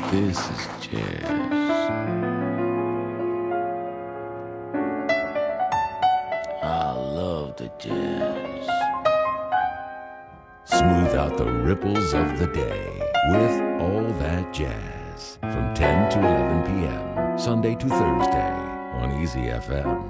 This is jazz. I love the jazz. Smooth out the ripples of the day with all that jazz from 10 to 11 p.m. Sunday to Thursday on Easy FM.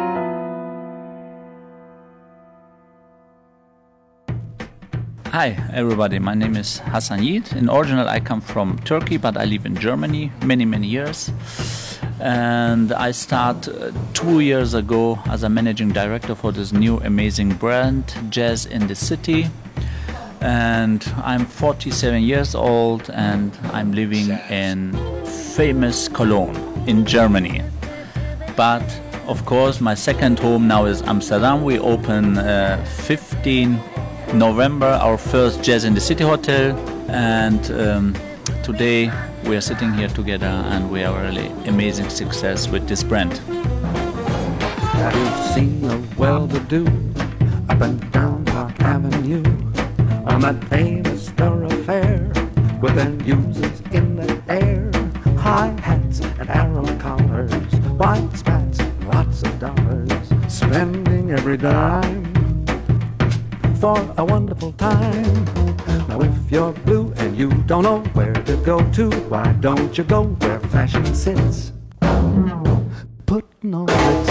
Hi everybody, my name is Hasan Yiğit. In original I come from Turkey, but I live in Germany many years. And I start 2 years ago as a managing director for this new amazing brand, Jazz in the City. And I'm 47 years old and I'm living in famous Cologne in Germany. But of course my second home now is Amsterdam. We open 15 November our first Jazz in the City hotel, and today we are sitting here together and we are really amazing success with this brand. Have you seen a well-to-do up and down Park Avenue on that famous thoroughfare with their users in the air, high hats and arrow collars, white spats, lots of dollars, spending every dime for a wonderful time. Now if you're blue and you don't know where to go to, why don't you go where fashion sits, putting on Ritz.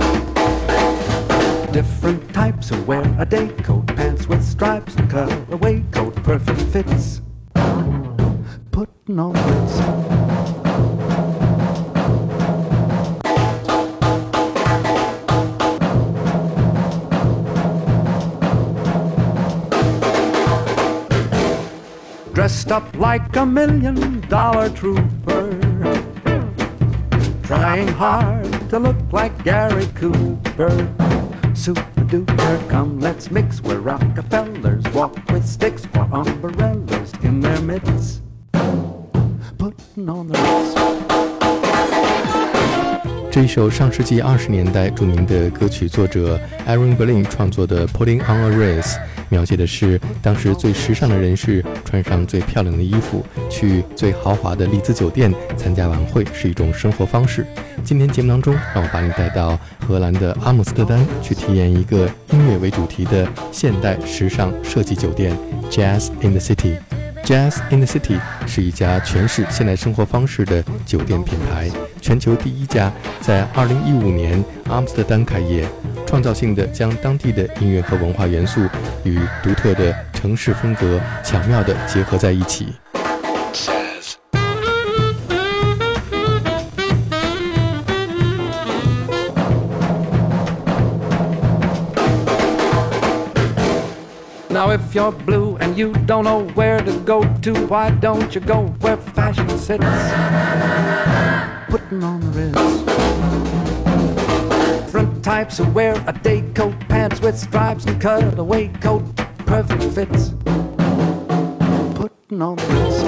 Different types who wear a day coat, pants with stripes and cutaway coat, perfect fits, putting on Ritz. Dressed up like $1 million trooper, trying hard to look like Gary Cooper. Super duper, come let's mix where Rockefellers walk with sticks or umbrellas in their midst, putting on the Ritz. 这一首上世纪20年代著名的歌曲作者 Aaron Berlin 创作的 Putting on a Ritz， 描写的是当时最时尚的人士穿上最漂亮的衣服，去最豪华的丽兹酒店参加晚会，是一种生活方式。今天节目当中，让我把你带到荷兰的阿姆斯特丹，去体验一个音乐为主题的现代时尚设计酒店 Jazz in the City。Jazz in the City 是一家诠释现代生活方式的酒店品牌，全球第一家，在2015年阿姆斯特丹开业，创造性的将当地的音乐和文化元素与独特的城市风格巧妙地结合在一起。 Now if you're blue and you don't know where to go to, why don't you go where fashion sits, putting on the Ritz. Different types who wear a day coat, pants with stripes and cutaway coat, perfect fits, putting on the Ritz.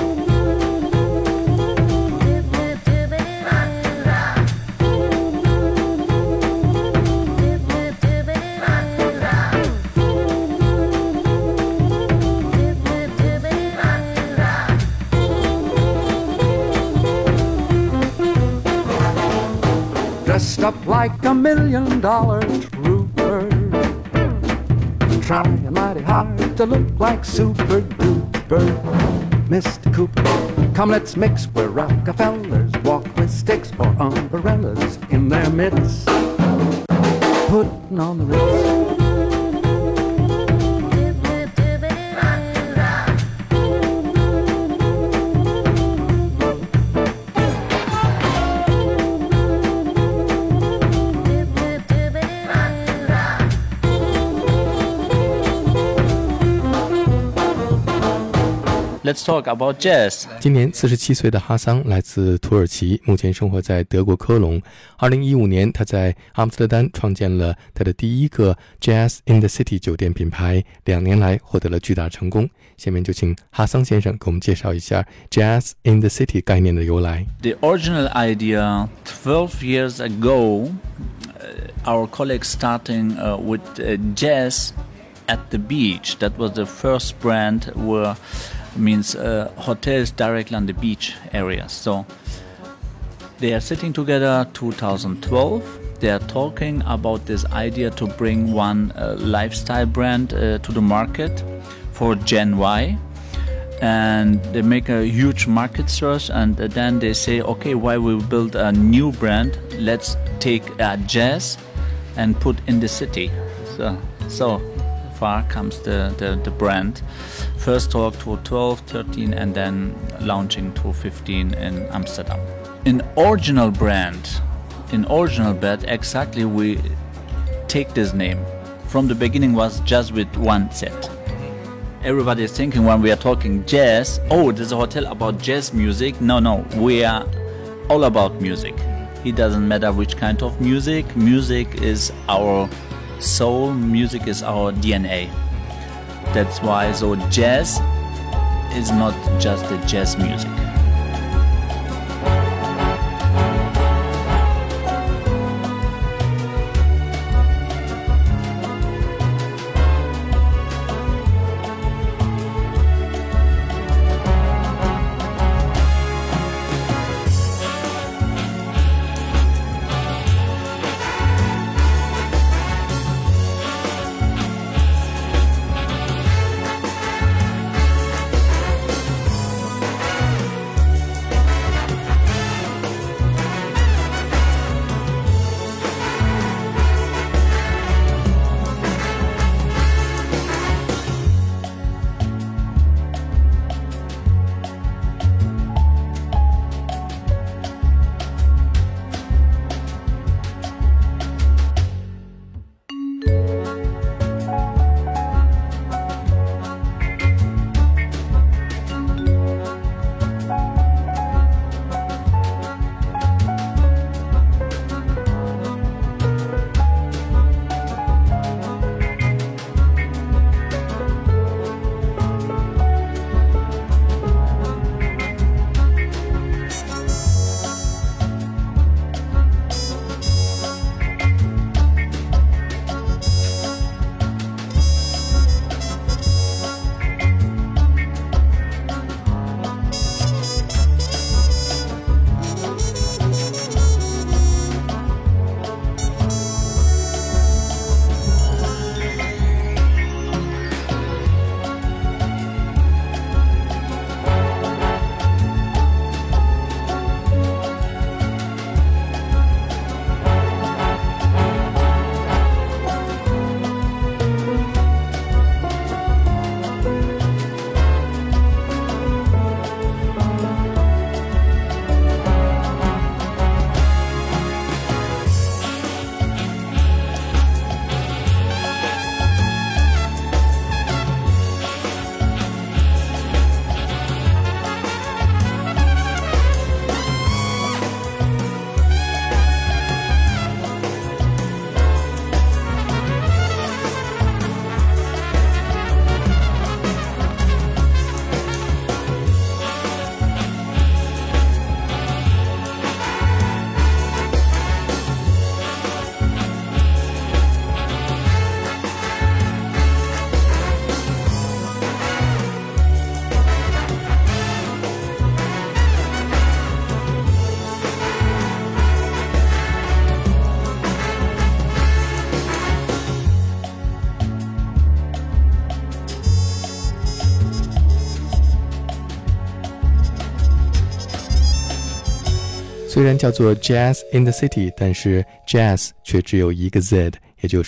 Dressed up like $1 million trooper, trying mighty hard to look like super duper. Mr. Cooper, come let's mix where Rockefellers walk with sticks or umbrellas in their midst, putting on the Ritz. Let's talk about jazz. 今年47岁的哈桑来自土耳其，目前生活在德国科隆。2015年，他在阿姆斯特丹创建了他的第一个 Jazz in the City 酒店品牌，2年来获得了巨大成功。下面就请哈桑先生给我们介绍一下 Jazz in the City 概念的由来。 The original idea 12 years ago, our colleagues starting with jazz at the beach. That was the first brand where means hotels directly on the beach areas. So they are sitting together 2012. They are talking about this idea to bring one lifestyle brand to the market for Gen Y. And they make a huge market search, and then they say, okay, why we build a new brand? Let's take jazz and put in the city. So far comes the brand. First talk to 12, 13, and then launching to 15 in Amsterdam. In original brand, exactly we take this name. From the beginning was just with one set. Everybody is thinking when we are talking jazz, oh, there's a hotel about jazz music. No, we are all about music. It doesn't matter which kind of music. Music is our soul, music is our DNA. That's why, so jazz is not just the jazz music. 虽然叫做 Jazz in the City， 但是 Jazz 却只有一个 Z， 也就是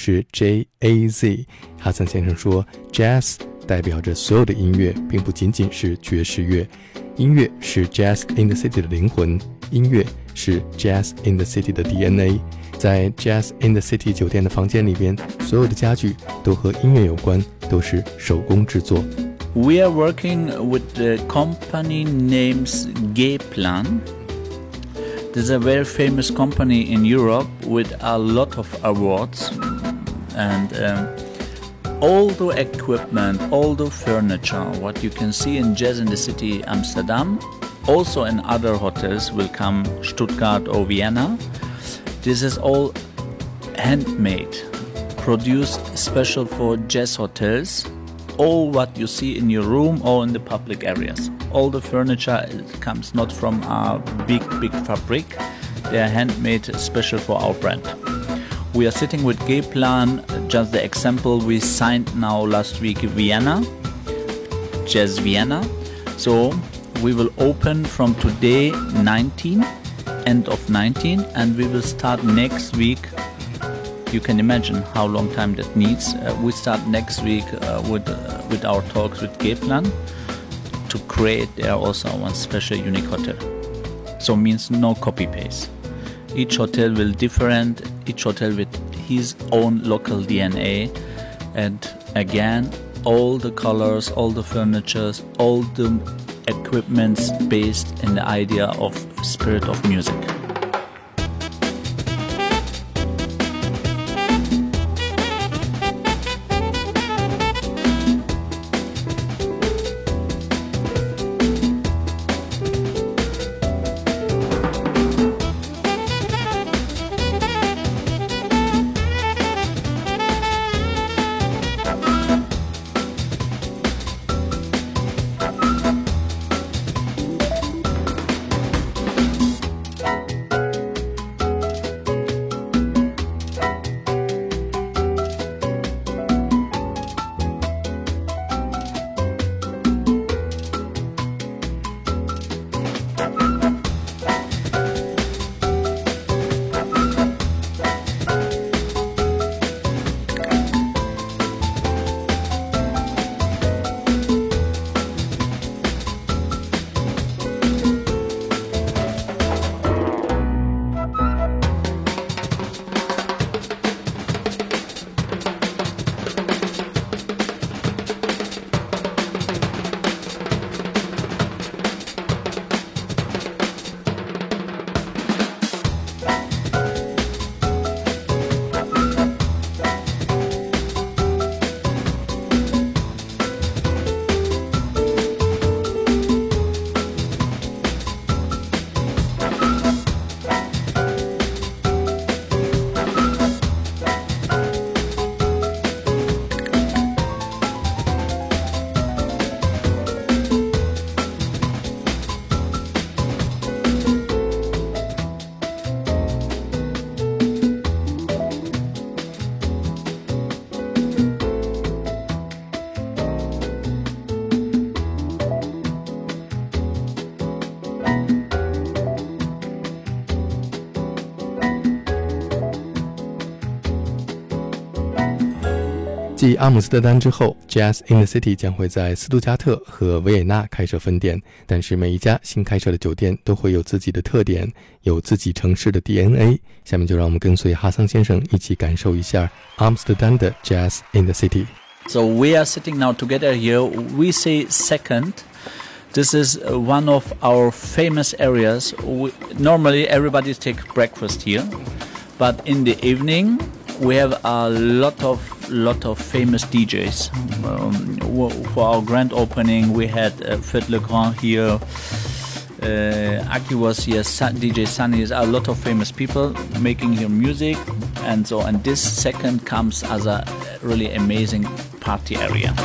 J-A-Z。哈森先生说 Jazz 代表着所有的音乐，并不仅仅是爵士乐。音乐是 Jazz in the City 的灵魂，音乐是 Jazz in the City 的 DNA。在 Jazz in the City 酒店的房间里边，所有的家具都和音乐有关，都是手工制作。 We are working with the company names G-Plan. This is a very famous company in Europe with a lot of awards, and all the equipment, all the furniture, what you can see in Jazz in the City Amsterdam, also in other hotels will come Stuttgart or Vienna. This is all handmade, produced special for jazz hotels, all what you see in your room or in the public areas. All the furniture comes not from a big fabric. They are handmade special for our brand. We are sitting with G-Plan. Just the example, we signed now last week Vienna, Jazz Vienna. So we will open from today 19, end of 19, and we will start next week. You can imagine how long time that needs. We start next week with our talks with G-Plan to create there also one special unique hotel. So means no copy paste. Each hotel will different, each hotel with his own local DNA, and again all the colors, all the furnitures, all the equipments based in the idea of spirit of music. 继阿姆斯特丹之后 Jazz in the City 将会在斯图加特和维也纳开设分店，但是每一家新开设的酒店都会有自己的特点，有自己城市的 DNA。 下面就让我们跟随哈桑先生一起感受一下阿姆斯特丹的 Jazz in the City。 So we are sitting now together here. We say second. This is one of our famous areas. Normally everybody take breakfast here, but in the evening we have a lot of famous DJs. For our grand opening, we had Fred Legrand here. Aki was here. DJ Sunny is a lot of famous people making here music, and so. And this second comes as a really amazing party area.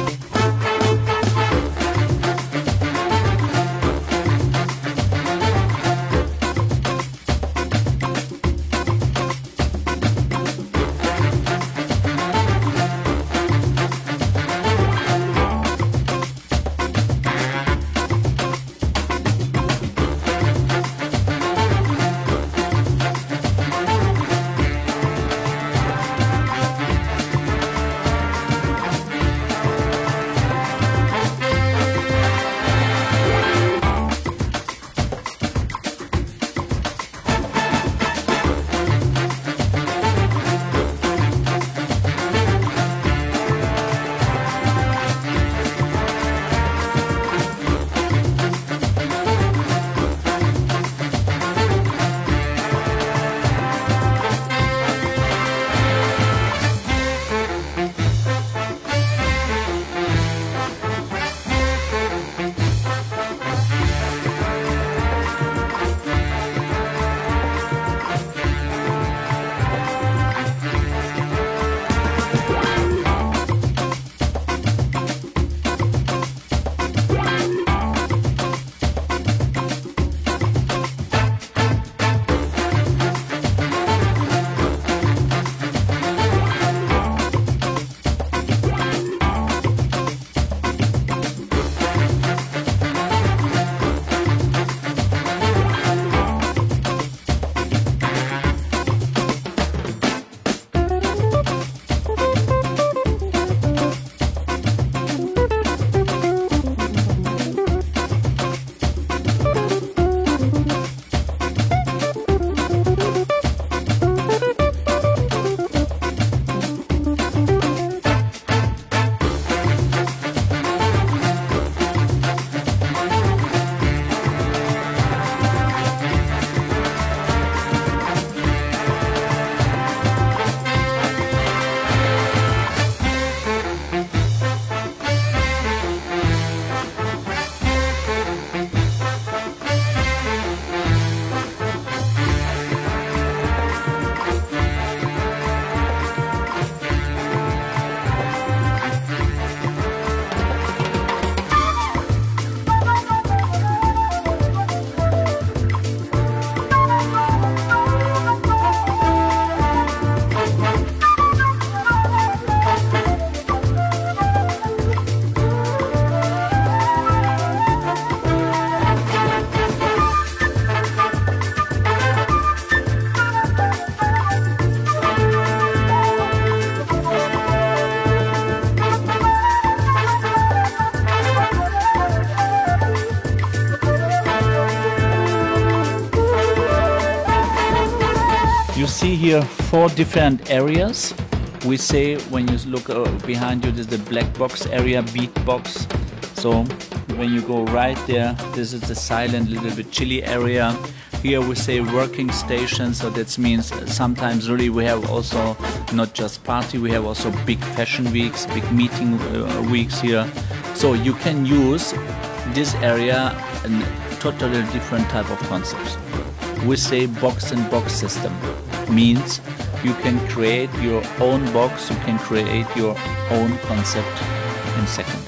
see here 4 different areas. We say when you look behind you, there's the black box area, beat box. So when you go right there, this is the silent, little bit chilly area. Here we say working station, so that means sometimes really we have also not just party, we have also big fashion weeks, big meeting weeks here. So you can use this area in totally different type of concepts. We say box and box system, means you can create your own box, you can create your own concept in seconds.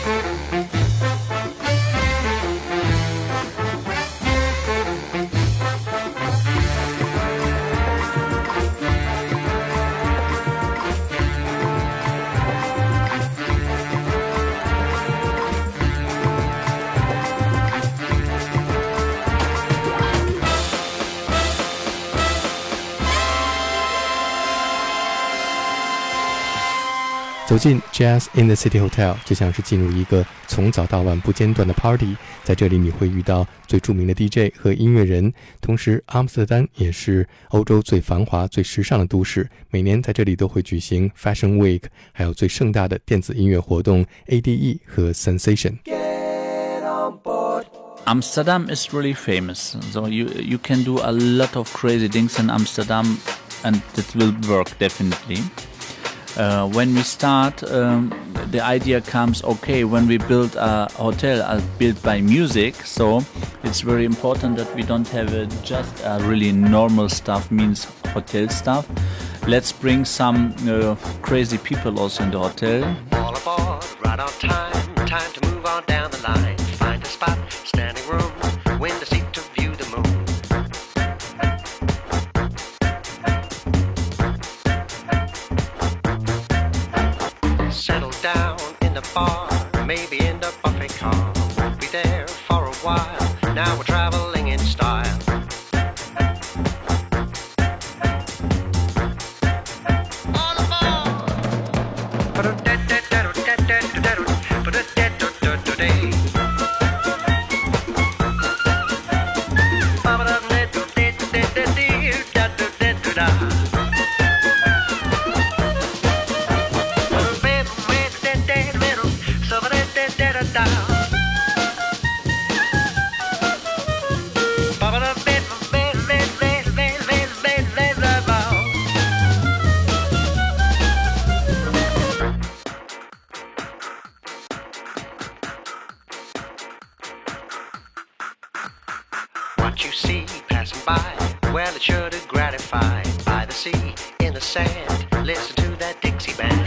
走进 Jazz in the City Hotel 就像是进入一个从早到晚不间断的 party， 在这里你会遇到最著名的 DJ 和音乐人，同时阿姆斯特丹也是欧洲最繁华最时尚的都市，每年在这里都会举行 Fashion Week， 还有最盛大的电子音乐活动 ADE 和 Sensation。 Amsterdam is really famous, so you can do a lot of crazy things in Amsterdam and it will work definitely. When we start, the idea comes, okay, when we build a hotel built by music, so it's very important that we don't have just a really normal stuff, means hotel stuff. Let's bring some crazy people also in the hotel. All aboard, right on time, time to move on down the line. Find a spot, standing room, window seat to view the moon. Settle down in the bar, maybe in the buffet car. Won't be there for a while, now we're traveling in style. All aboard! What you see passing by, well, it's sure to gratify. By the sea, in the sand, listen to that Dixie band.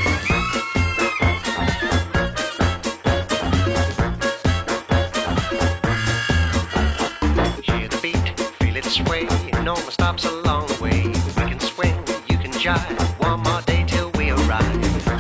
Hear the beat, feel it sway, no more stops along the way. We can swing, you can jive, one more day till we arrive.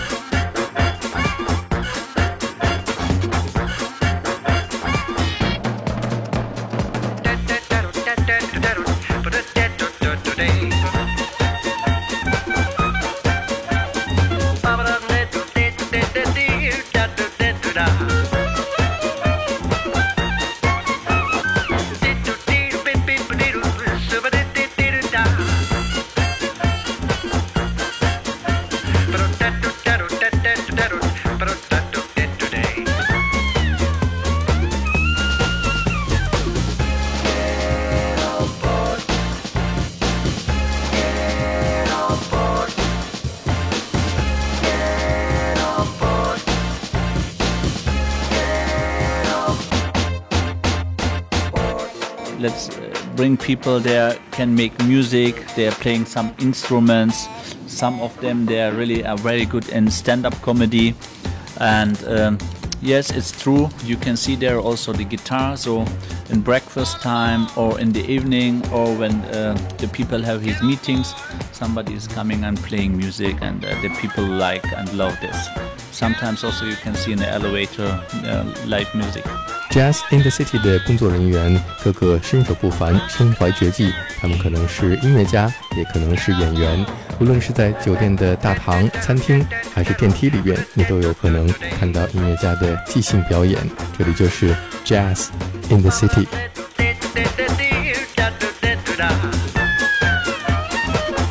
Let's bring people there, can make music, they're playing some instruments. Some of them, they're really very good in stand-up comedy. And yes, it's true, you can see there also the guitar. So in breakfast time or in the evening or when the people have his meetings, somebody is coming and playing music and the people like and love this. Sometimes also you can see in the elevator live music. Jazz in the City 的工作人员个个身手不凡，身怀绝技，他们可能是音乐家，也可能是演员。无论是在酒店的大堂、餐厅，还是电梯里边，你都有可能看到音乐家的即兴表演。这里就是 Jazz in the City。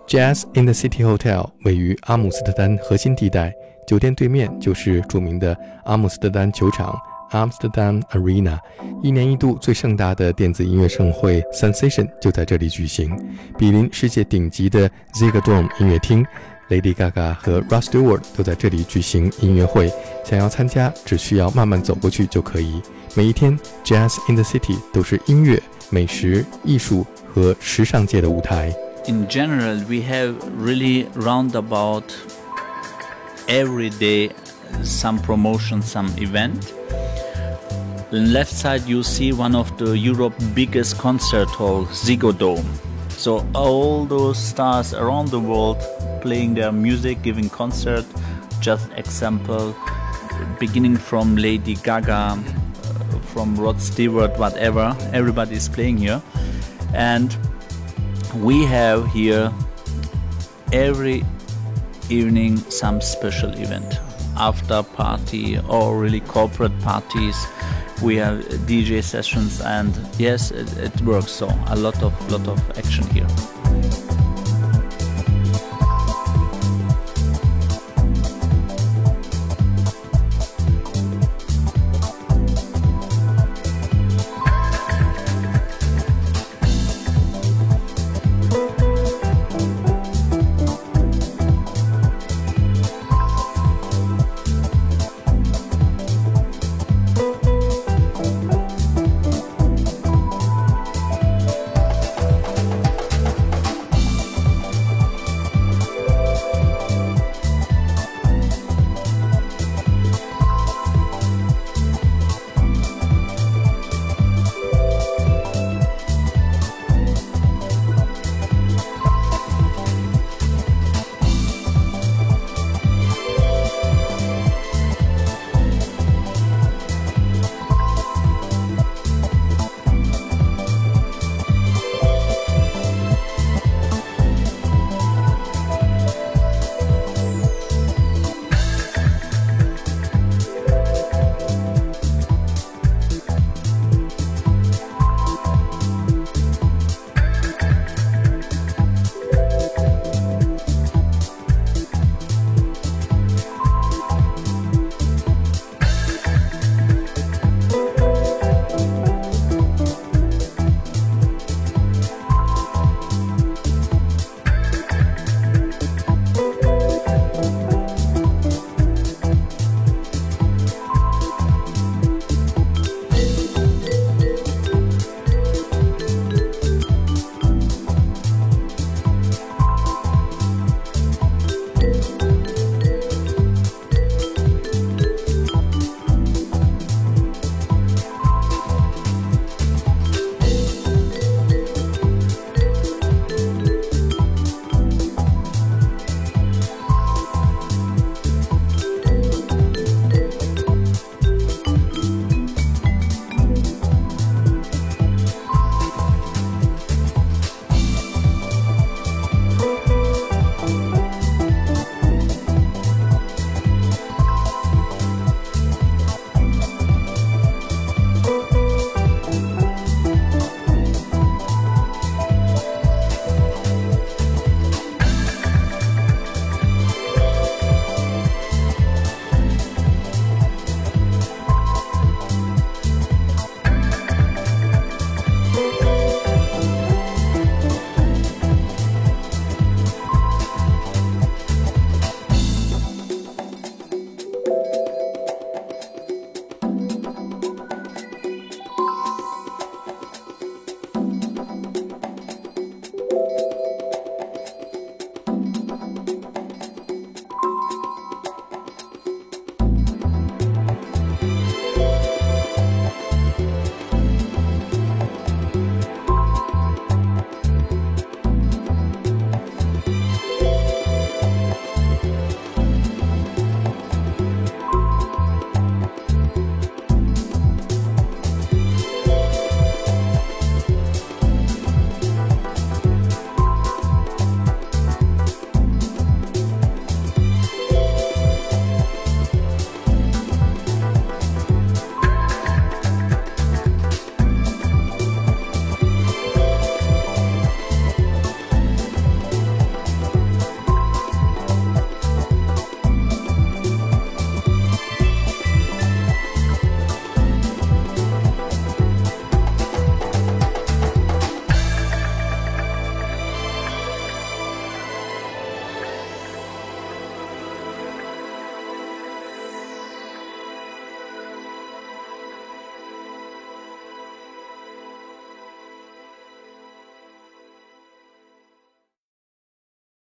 Jazz in the City Hotel 位于阿姆斯特丹核心地带，酒店对面就是著名的阿姆斯特丹球场 Amsterdam Arena， 一年一度最盛大的电子音乐盛会 Sensation 就在这里举行，比邻世界顶级的 Ziggo Dome 音乐厅。Lady Gaga 和 Rod Stewart 都在这里举行音乐会，想要参加只需要慢慢走过去就可以。每一天 Jazz in the City 都是音乐、美食、艺术和时尚界的舞台。 In general, we have really roundabout every day some promotion, some event. On the left side you see one of the Europe's biggest concert hall, Ziggo Dome. So all those stars around the world playing their music, giving concert. Just example, beginning from Lady Gaga, from Rod Stewart, whatever, everybody is playing here. And we have here every evening some special event, after party or really corporate parties. We have DJ sessions, and yes, it works. So a lot of action here.